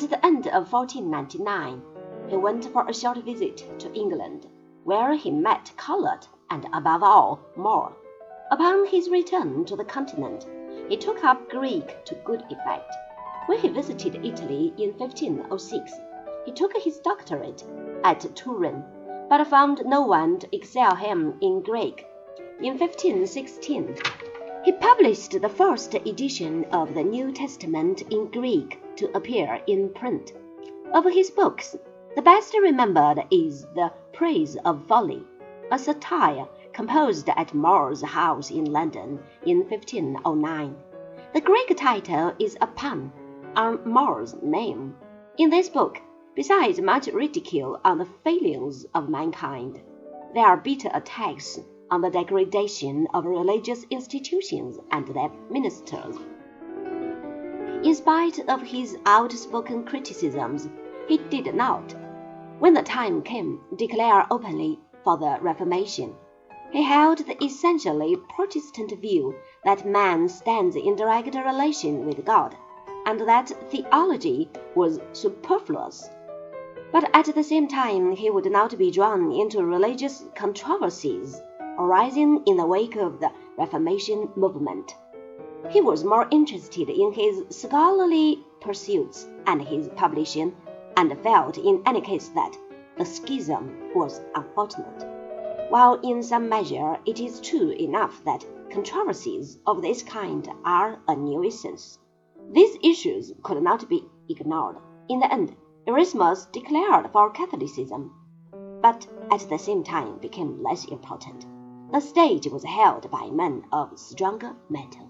At the end of 1499, he went for a short visit to England, where he met Colet and, above all, More. Upon his return to the continent, he took up Greek to good effect. When he visited Italy in 1506, he took his doctorate at Turin, but found no one to excel him in Greek. In 1516, he published the first edition of the New Testament in Greek to appear in print. Of his books, the best remembered is The Praise of Folly, a satire composed at More's house in London in 1509. The Greek title is a pun on More's name. In this book, besides much ridicule on the failings of mankind, there are bitter attacks on the degradation of religious institutions and their ministers. In spite of his outspoken criticisms, he did not, when the time came, declare openly for the Reformation. He held the essentially Protestant view that man stands in direct relation with God, and that theology was superfluous. But at the same time, he would not be drawn into religious controversies arising in the wake of the Reformation movement. He was more interested in his scholarly pursuits and his publishing, and felt in any case that the schism was unfortunate. While in some measure it is true enough that controversies of this kind are a nuisance, these issues could not be ignored. In the end, Erasmus declared for Catholicism, but at the same time became less important. The stage was held by men of stronger mettle.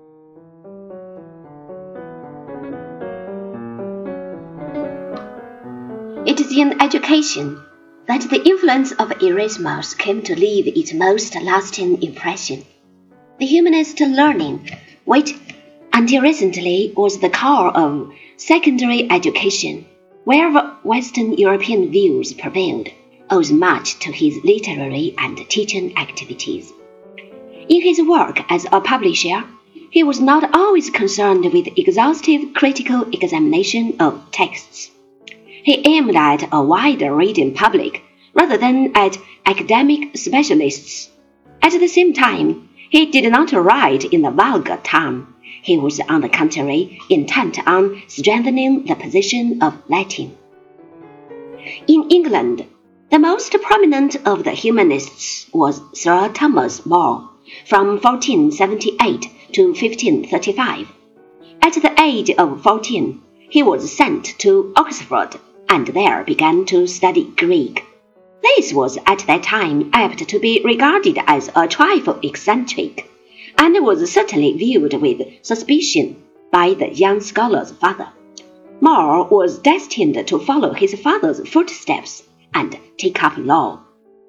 It is in education that the influence of Erasmus came to leave its most lasting impression. The humanist learning, which until recently was the core of secondary education, wherever Western European views prevailed, owes much to his literary and teaching activities. In his work as a publisher, he was not always concerned with exhaustive critical examination of texts. He aimed at a wider reading public rather than at academic specialists. At the same time, he did not write in the vulgar tongue. He was, on the contrary, intent on strengthening the position of Latin. In England, the most prominent of the humanists was Sir Thomas More, from 1478 to 1535. At the age of 14, he was sent to Oxford and there began to study Greek. This was at that time apt to be regarded as a trifle eccentric, and was certainly viewed with suspicion by the young scholar's father. More was destined to follow his father's footsteps and take up law.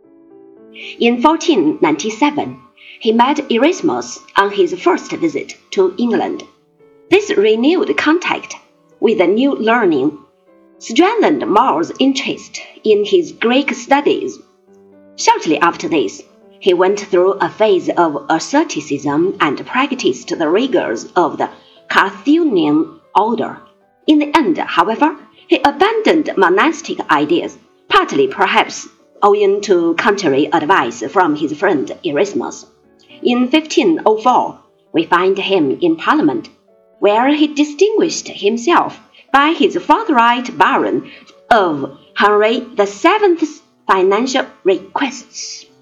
In 1497, he met Erasmus on his first visit to England. This renewed contact with the new learning strengthened More's interest in his Greek studies. Shortly after this, he went through a phase of asceticism and practiced the rigors of the Carthusian order. In the end, however, he abandoned monastic ideas, partly perhaps owing to contrary advice from his friend Erasmus. In 1504, we find him in Parliament, where he distinguished himself by his forthright barring of Henry VII's financial requests.